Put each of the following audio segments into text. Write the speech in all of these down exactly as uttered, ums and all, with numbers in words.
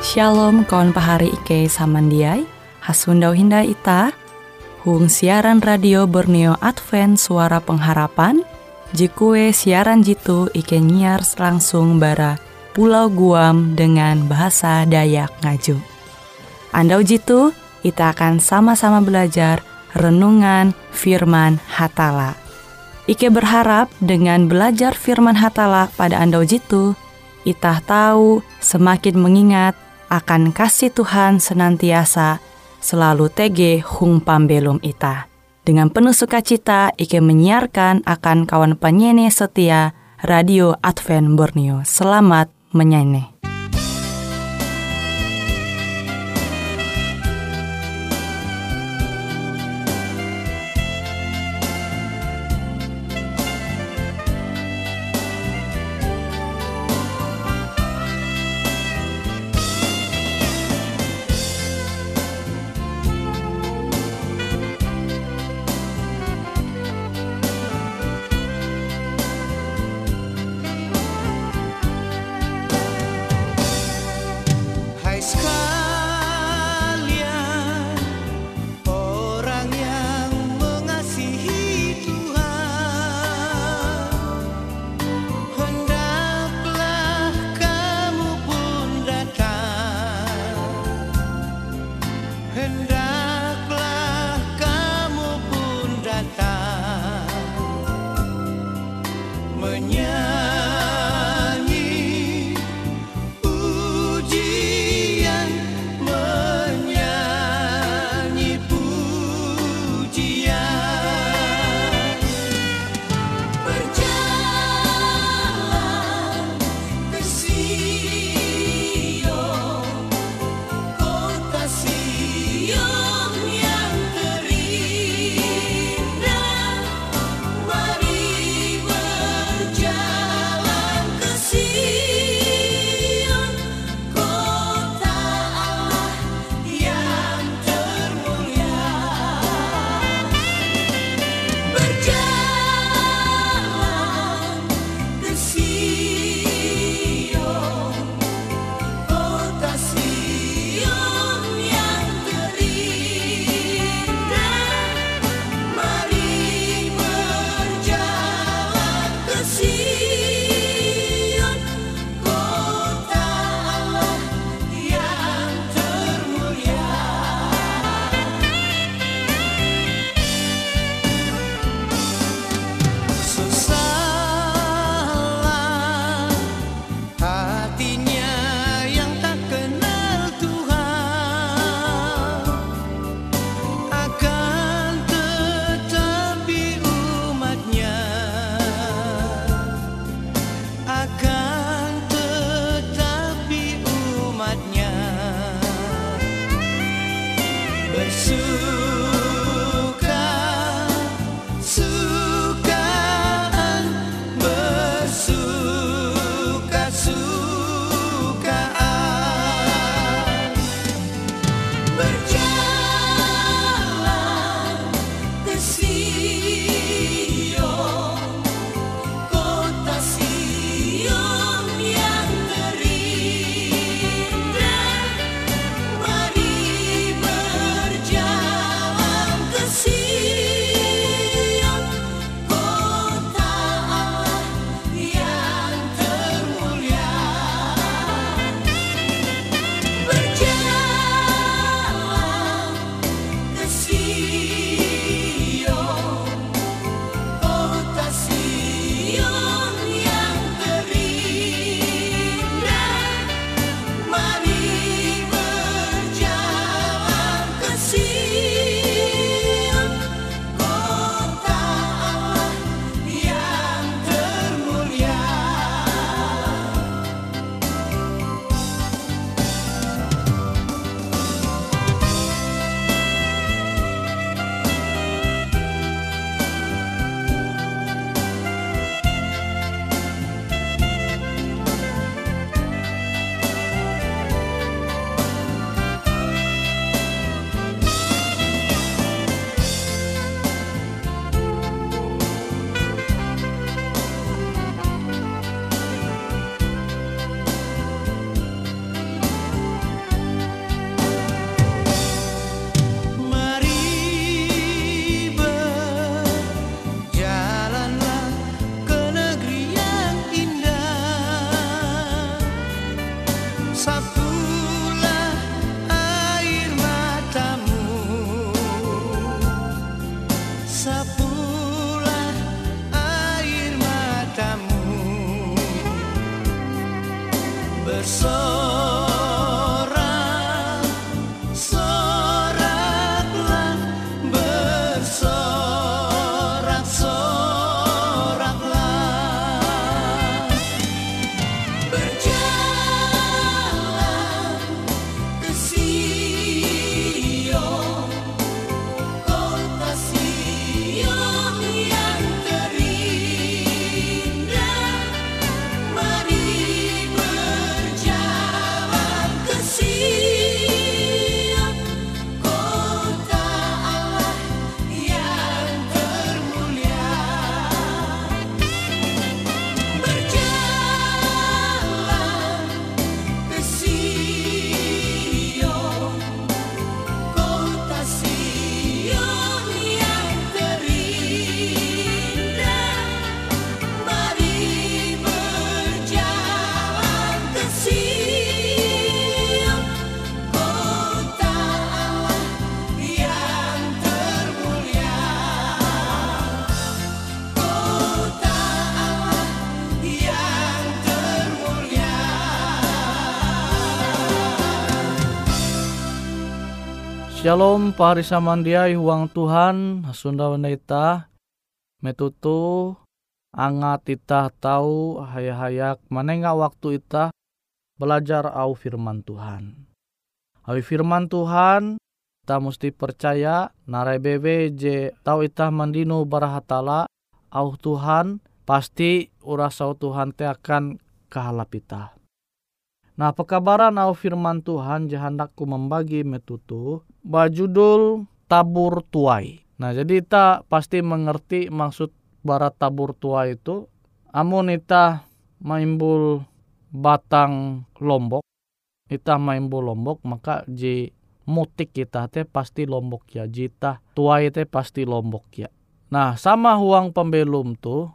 Shalom kawan pahari Ike samandiai, hasundau hindai ita, hung siaran radio Borneo Advent Suara Pengharapan, jikue siaran jitu Ike nyiar langsung bara Pulau Guam dengan bahasa Dayak Ngaju. Andau jitu, kita akan sama-sama belajar renungan firman Hatala. Ike berharap dengan belajar firman Hatala pada andau jitu, itah tahu semakin mengingat akan kasih Tuhan senantiasa selalu tege hung pambelum ita. Dengan penuh sukacita, Ike menyiarkan akan kawan penyanyi setia Radio Advent Borneo. Selamat menyanyi. sapulah air matamu, bersorak, soraklah, bersorak, soraklah. Berjalan ke Sion, kota Sion yang terindah. Mari berjalan ke Sion, kota Allah yang termulia. Berjalan ke Sion, kota Sion yang terindah. Mari berjalan ke Sion, kota Allah yang termulia. Kota Allah yang termulia. Shalom pahari samandiai huang Tuhan Sunda Wendaita metutu angat ita tahu hayak-hayak manenga waktu ita belajar au firman Tuhan. Au firman Tuhan kita mesti percaya narai bebe je tahu ita mandino barahatala au Tuhan pasti urasau Tuhan te akan kahalap ita. Nah, pekabaran au firman Tuhan jahandakku membagi metutu bajudul tabur tuai. Nah, jadi ita pasti mengerti maksud bara tabur tuai itu. Amun ita maimbul batang lombok, ita maimbul lombok, maka ji mutik kita te pasti lombok ya. Jita tuai te pasti lombok ya. Nah, sama huang pembelum tuh,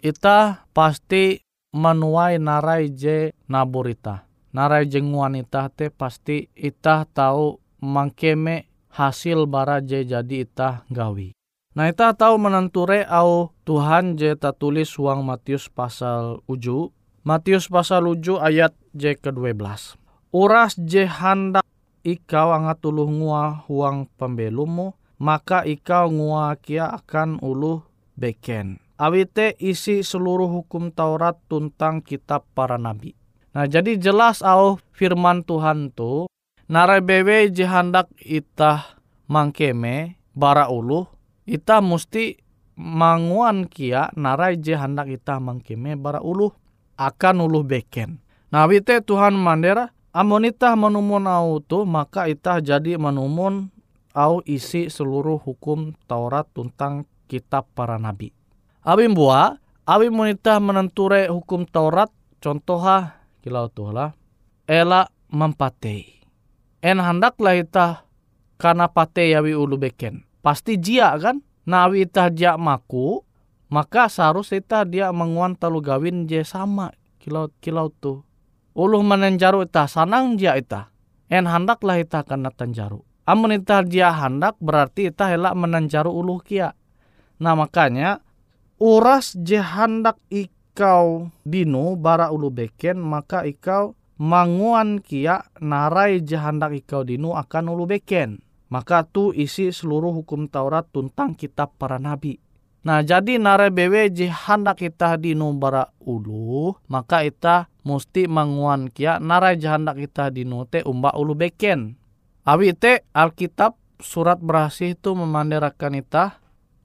ita pasti menuai narai je nabur ita. Narai jenguan ita te pasti ita tahu mangkeme hasil bara je jadi ita gawi. Nah, ita tahu menenture au Tuhan je ta tulis huang Matius pasal uju. Matius pasal uju ayat je ke dua belas. Uras je handak ikau angat uluh ngua huang pembelumu, maka ikau ngua kia akan uluh beken. Awite isi seluruh hukum Taurat tuntang kitab para nabi. Nah, jadi jelas au firman Tuhan tu narai bewe je handak ita mangkeme bara uluh, ita musti manguan kia narai je handak ita mangkeme bara uluh akan uluh beken. Nah, wite Tuhan mandera amun ita menumun au tu maka ita jadi menumun au isi seluruh hukum Taurat tuntang kitab para nabi. Abim bua, abim munita menenture hukum Taurat contoha kilau tuhlah ela mempatei. En handaklah ita kana patei yawi ulu beken. Pasti jia kan? Nawi ita jia maku, maka seharus ita dia menguan talu gawin je sama kilau kilau tu. Uluh menenjaru ita sanang jia ita. En handaklah ita kana tanjaru. Amun ita jia handak berarti ita helak menenjaru uluh kia. Nah, makanya uras je handak ikau dino bara ulu beken, maka ikau manguan kia narai je handak ikau dino akan ulu beken. Maka tu isi seluruh hukum Taurat tuntang kitab para nabi. Nah, jadi narai bewe je handak kita dino bara ulu, maka ita musti manguan kia narai je handak kita dino te umba ulu beken. Awi te Alkitab surat berasih itu memanderakan ita,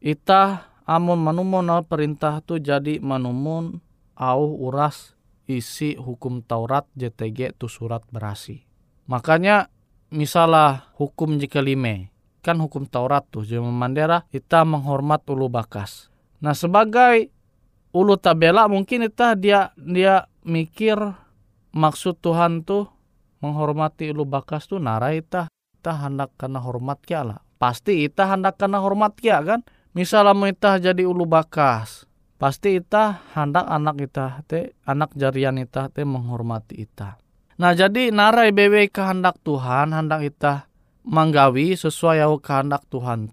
ita amun manumun au perintah tu jadi manumun au uras isi hukum Taurat J T G tu surat berasi. Makanya misalah hukum jika lime, kan hukum Taurat tu jadi memandera kita menghormat ulu bakas. Nah, sebagai ulu tabela mungkin kita dia dia mikir maksud Tuhan tu menghormati ulu bakas tu narai ita ita hendak kena hormat kia lah. Pasti ita hendak kena hormat kia kan? Misalnya ita jadi ulu bakas, pasti ita hendak anak ita te anak jarian ita te menghormati ita. Nah, jadi narai bewe kehendak Tuhan hendak ita manggawi sesuai au kehendak Tuhan te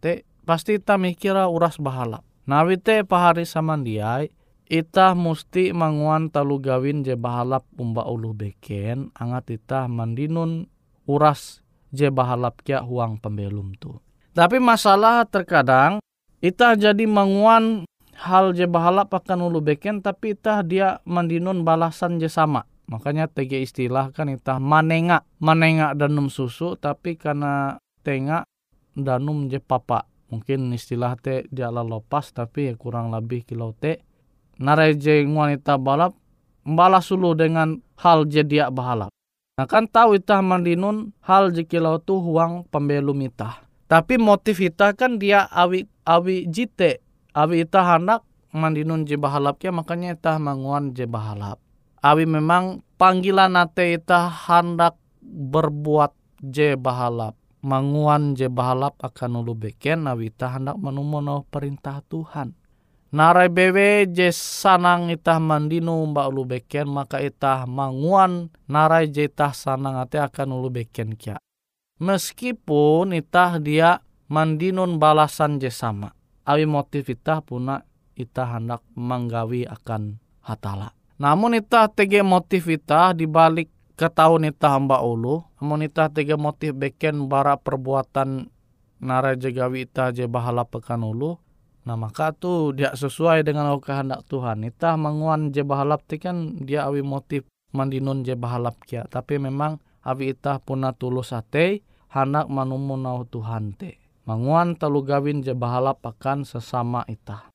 pasti ita mikira uras bahalap. Nawite pahari samandiai, ita musti manguan talu gawin je bahalap umba ulu beken, angat ita mandinun uras je bahalap kia huang pembelum tu. Tapi masalah terkadang ita jadi manguan hal je bahalap akan ulu beken, tapi ita dia mandinun balasan je sama. Makanya tege istilah kan ita manenga, manenga danum susu, tapi karena tenga danum je papa. Mungkin istilah te dia lepas, tapi ya kurang lebih kilau te. Narai je wanita balap, balas sulu dengan hal je dia bahalap. Nah kan tahu ita mandinun hal je kilau tu huang pembelum ita. Tapi motif ita kan dia awi awi jite, awi ita hendak mandinun je bahalap kia, makanya ita manguan je bahalap. Awi memang panggilan ate ita hendak berbuat je bahalap, manguan je bahalap akan ulu beken, awi ita hendak menumono perintah Tuhan. Narai bewe je sanang ita mandinu mbak ulu beken, maka ita manguan narai je ita sanang ate akan ulu beken kia. Meskipun ita dia mandinun balasan je sama, awi motif ita puna ita hendak menggawi akan hatala. Namun ita tege motif ita dibalik ketahun ita hamba ulu, namun ita tege motif beken bara perbuatan narai je gawi ita je bahalap pekan ulu. Nah maka tu dia sesuai dengan kehendak Tuhan. Ita manguan je bahalap ti kan dia awi motif mandinun je bahalap kia. Tapi memang awi ita puna tulus ate hendak manumunau Tuhan te. Manguan talu gawin je bahalap akan sesama ita.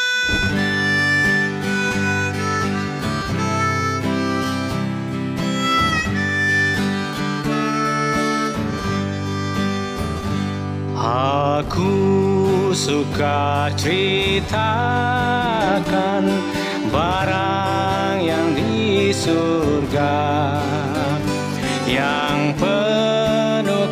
Aku suka ceritakan barang yang di surga, yang penuh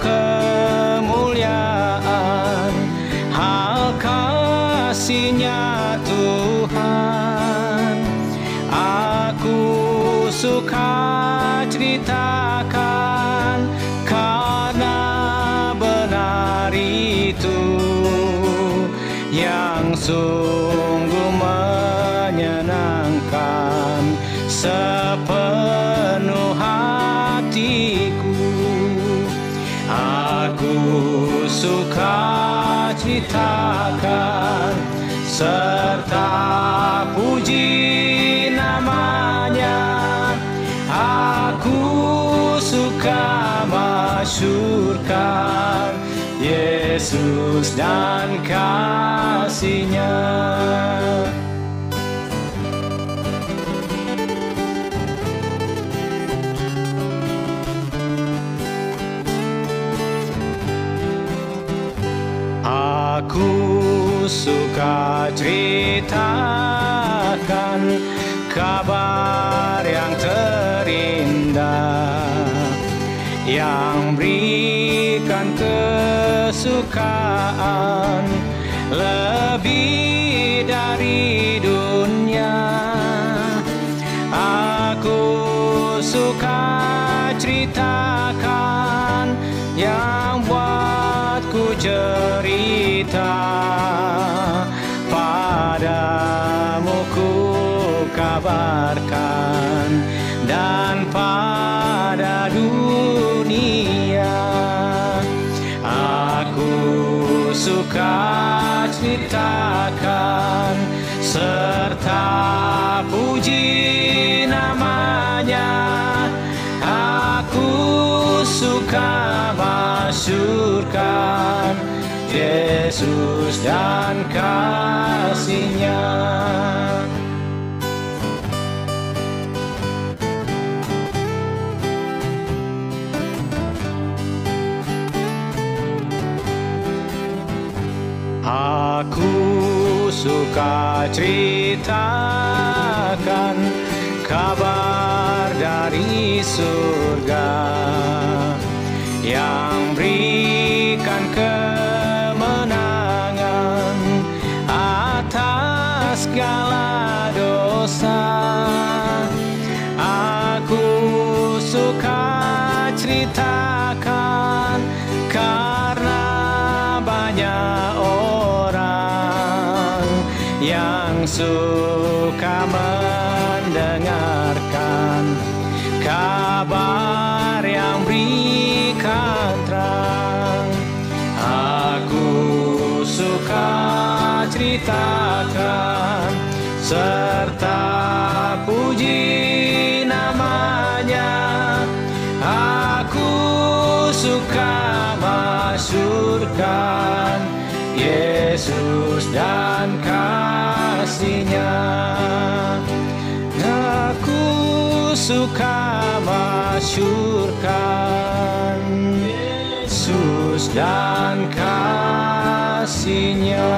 kemuliaan, hal kasih-Nya Tuhan. Aku suka ceritakan karena benar itu yang sungguh menyenangkan sepenuh hatiku. Aku suka ceritakan serta puji namanya. Aku suka masyurkan Yesus dan kasih-Nya. Aku suka ceritakan kabar yang terindah, yang berikan kesukaan lebih dari dunia. Aku suka ceritakan yang buatku cerita, padamu ku kabarkan dan pada dunia. Aku suka ceritakan serta puji namanya. Aku suka masyurkan Yesus dan kasih-Nya. Aku suka ceritakan kabar dari surga, yang berikan kemenangan atas segala dosa. Aku suka ceritakan karena banyak orang yang suka mendengarkan kabar yang berikan terang. Aku suka ceritakan serta puji namanya. Aku suka masyurkan Yesus dan kasih-Nya. Aku suka masyurkan Yesus dan kasih-Nya.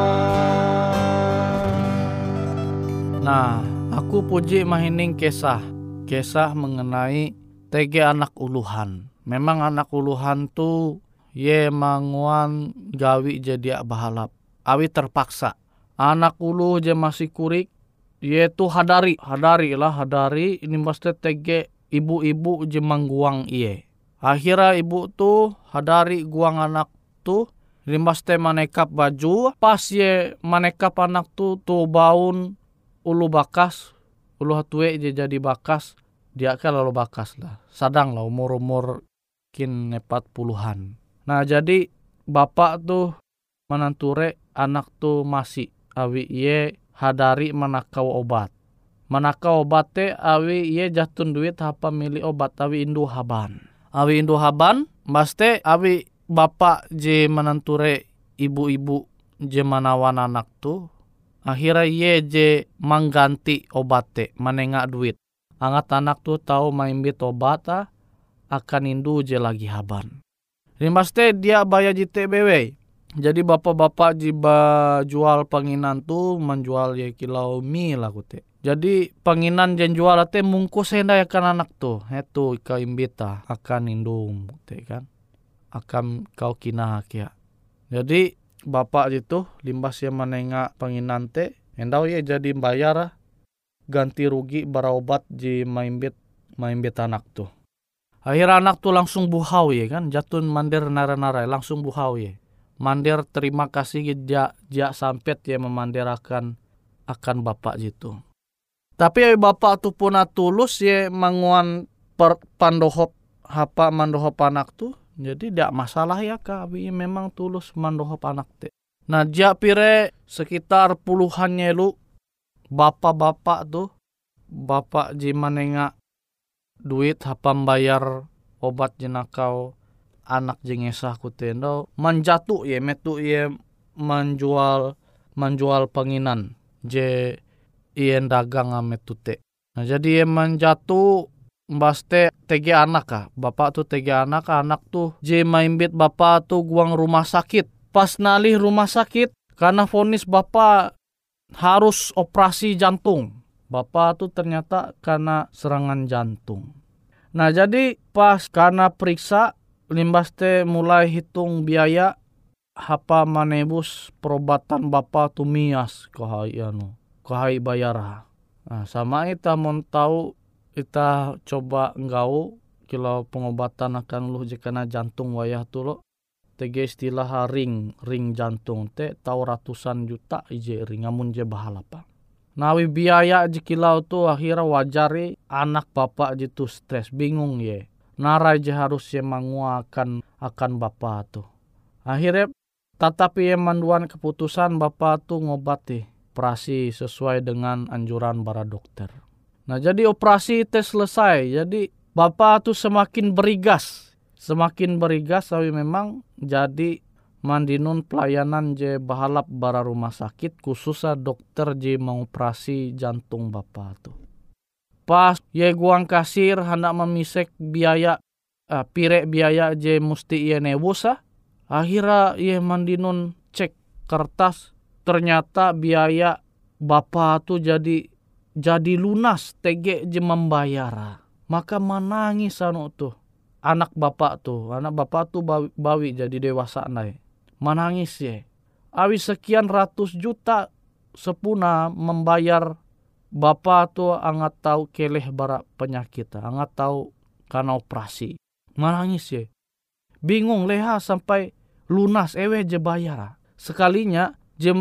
Nah, aku puji mahining kisah. Kisah mengenai T G anak uluhan. Memang anak uluhan tu ye manguan gawi jadi bahalap. Awi terpaksa. Anak ulu je masih kurik. Ye tu hadari. Hadari lah hadari. Ini mesti T G ibu-ibu je mangguang iye. Akhirnya ibu tu hadari guang anak tu. Ini mesti manekap baju. Pas ye manekap anak tu tu baun ulu bakas. Ulu hatue je jadi bakas. Dia kan lalu bakas lah. Sadang lah umur-umur kin empat puluhan. Nah jadi bapak tuh menanture anak tuh masih awi ye hadari manakau obat. Manakau obat te awi ye jatun duit apa milih obat awi indu haban. Awi indu haban maste awi bapak je menanture ibu-ibu je manawan anak tuh. Akhirnya ye je mengganti obat te manengak duit. Angat anak tuh tahu main bit obat ah, akan indu je lagi haban. Ini pasti dia bayar J T B W. Jadi bapak-bapak jiba jual penginan tuh menjual ya kilau mie lah kute. Jadi penginan jen jual ate mungkus hendak akan anak tuh. Itu kau imbita akan indung kute kan. Akan kau kina kia. Jadi bapak itu limbas yang menengak penginan te. Hendak ya jadi bayar ah. Ganti rugi bara obat di maimbit maimbit anak tuh. Akhirnya anak tuh langsung buhau ya kan, jatun mandir nara-nara langsung buhau ya. Mandir terima kasih dia dia sampet ya memandirakan akan bapak gitu. Tapi ya bapak tuh pun tulus ya manguan per, pandohop hapa mandohop anak tuh. Jadi tidak masalah ya kak, memang tulus mandohop anak teh. Nah dia pire sekitar puluhannya lu bapak-bapak tuh, bapak jimanenga duit hapam bayar obat jenakau anak jengesah kutendo manjatu ye metu ye menjual menjual penginan je ien dagang ametute. Nah jadi ye manjatu mbaste T G anak ah, bapak tuh T G anak, anak tuh je maimbit bapak tuh guang rumah sakit. Pas nalih rumah sakit karena vonis bapak harus operasi jantung. Bapak tuh ternyata karena serangan jantung. Nah jadi pas karena periksa limbas teh mulai hitung biaya hapa manebus perobatan bapak tuh mias kohai anu kohai bayar. Nah sama kita mau tahu kita coba enggau kilo pengobatan akan lu jika jantung wayah tuh lo. T G istilah ring ring jantung te tahu ratusan juta ije ring amun je bahalapa. Nawi biaya jikilau tu akhirnya wajari anak bapak jitu stres bingung ye. Narai je harus ye manguakan akan bapak tu. Akhirnya tetapi ye manduan keputusan bapak tu ngobati operasi sesuai dengan anjuran para dokter. Nah jadi operasi itu selesai. Jadi bapak tu semakin berigas. Semakin berigas tapi memang jadi mandinun pelayanan je bahalap bara rumah sakit khususnya dokter je mengoperasi jantung bapak tu. Pas ye guang kasir hendak memisek biaya uh, pire biaya je musti ye nebus ah. Akhirnya ye mandinun cek kertas ternyata biaya bapak tu jadi jadi lunas T G je membayar. Maka menangis anu tuh. Anak bapak tuh, anak bapak tuh bawi, bawi jadi dewasa naik. Menangis ya. Awi sekian ratus juta sepuna membayar bapak tuh angat tahu keleh bara penyakit, angat tahu karena operasi. Menangis ya. Bingung leha sampai lunas ewe je bayar. Sekalinya je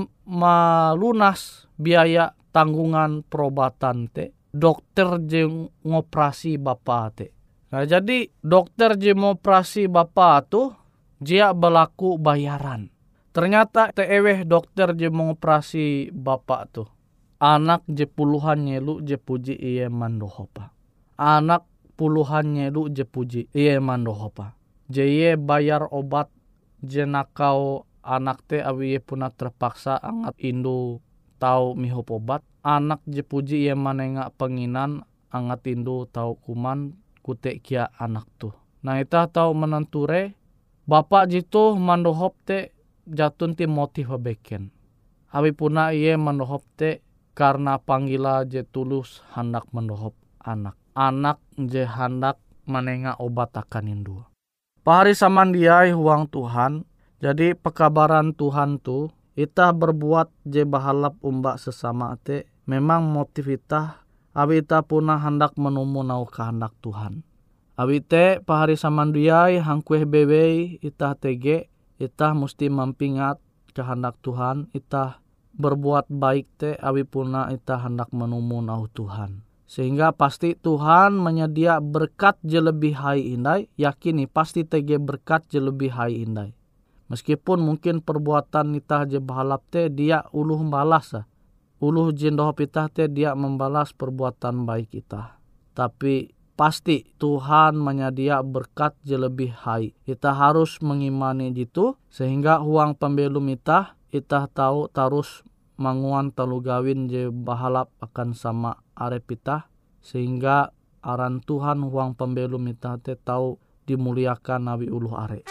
malunas biaya tanggungan perobatan te dokter je ngoperasi bapa te. Nah, jadi dokter je ngoperasi bapa tu dia berlaku bayaran. Ternyata te eweh dokter je mengoperasi bapa tu anak je puluhan nyelu je puji iye mandohopa. Anak puluhan nyelu je puji iye mandohopa. Je iye bayar obat je nakau anak te awi iye puna terpaksa angat indu tau mihop obat. Anak je puji iye manenga penginan angat indu tau kuman kutek kia anak tu. Nah, ita tau menenture bapak jitu mandohop te jatun ti motif beken. Awi puna iye mandohop te karena panggila je tulus hendak mendohop anak. Anak je hendak menenga obat akan indu. Pahari samandiai huang Tuhan. Jadi pekabaran Tuhan tu ita berbuat je bahalap umbak sesama te memang motif ita awi ita puna hendak menumu nau kehendak Tuhan. Awi te pahari samandiai hangkueh bebei ita tege ita mesti mampingat kehendak Tuhan. Ita berbuat baik te awi puna ita hendak menumu nau Tuhan. Sehingga pasti Tuhan menyedia berkat je lebih hai indai. Yakini pasti tege berkat je lebih hai indai. Meskipun mungkin perbuatan ita je bahalap te dia uluh membalas. Uluh jindohop ita te dia membalas perbuatan baik ita. Tapi pasti Tuhan menyedia berkat je lebih hai. Ita harus mengimani jitu sehingga huang pembelum ita ita tahu tarus manguan telu gawin je bahalap akan sama arep ita sehingga aran Tuhan huang pembelum ita te tahu dimuliakan nawi uluh are.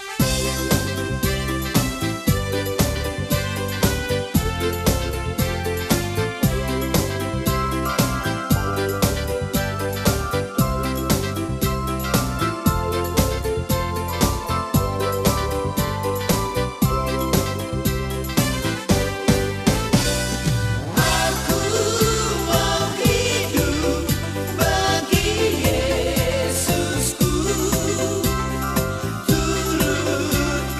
Yesusku, turut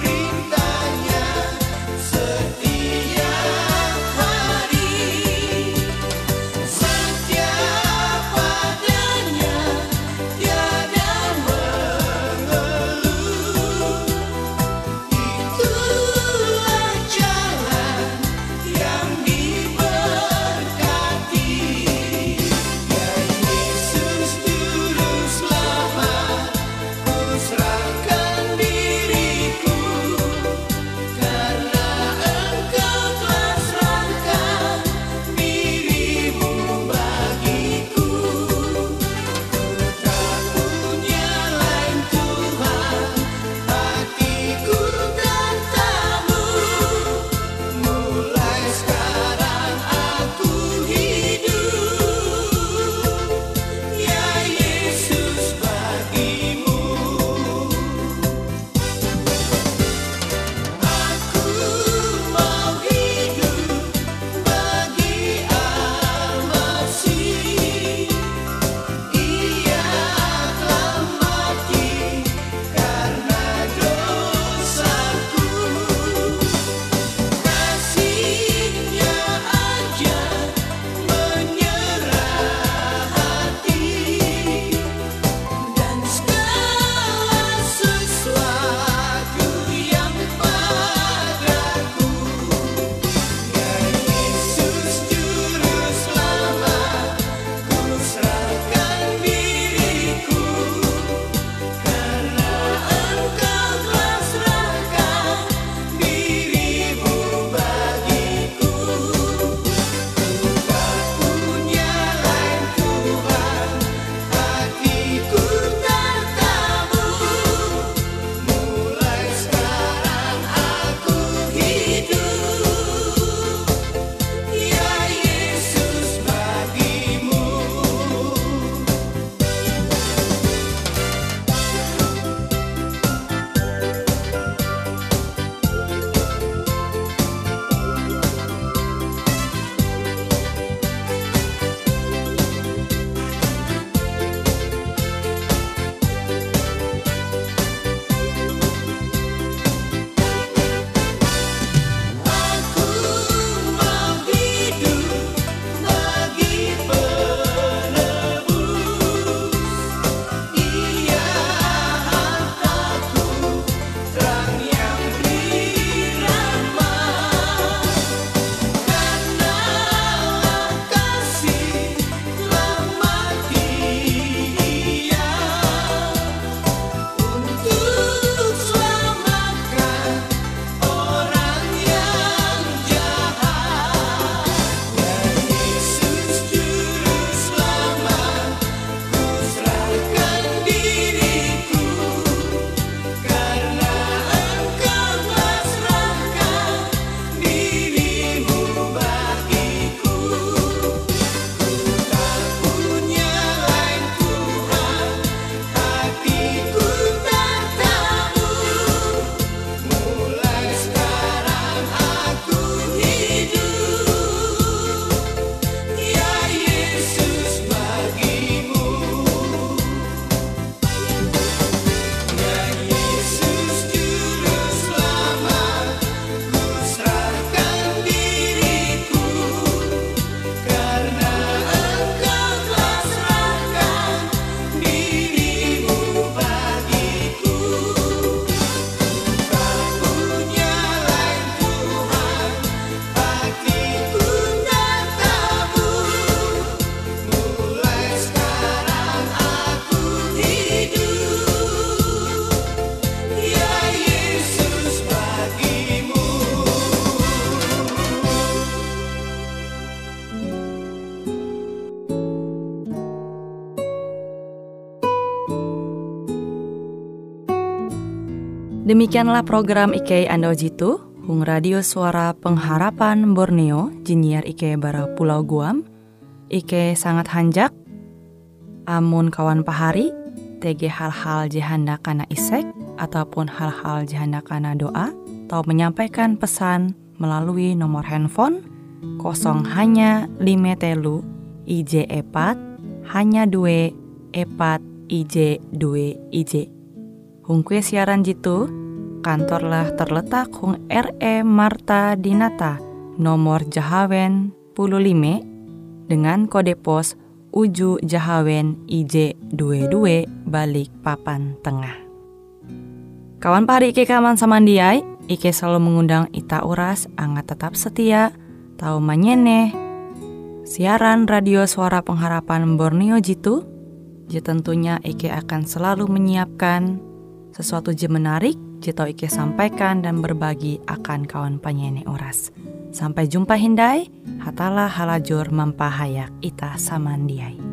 Demikianlah program Ike Ando Jitu, Hung Radio Suara Pengharapan Borneo, jinnyar Ike bara Pulau Guam. Ike sangat hanjak, amun kawan pahari, tege hal-hal jihanda kana isek, ataupun hal-hal jihanda kana doa, atau menyampaikan pesan melalui nomor handphone kosong hanya lima telu I J epat hanya dua epat I J dua I J. Hung kue siaran jitu, kantorlah terletak Hung R E Marta Dinata, nomor Jahawen puluh lima, dengan kode pos Uju Jahawen I J dua dua balik papan tengah. Kawan pahari Ike kaman samandiai, Ike selalu mengundang ita uras angga tetap setia, tahu manyene siaran radio Suara Pengharapan Borneo jitu. Ji tentunya Ike akan selalu menyiapkan sesuatu je menarik, je tau Ike sampaikan dan berbagi akan kawan penyanyi oras. Sampai jumpa hindai, hatalah halajur mempahayak ita samandiai.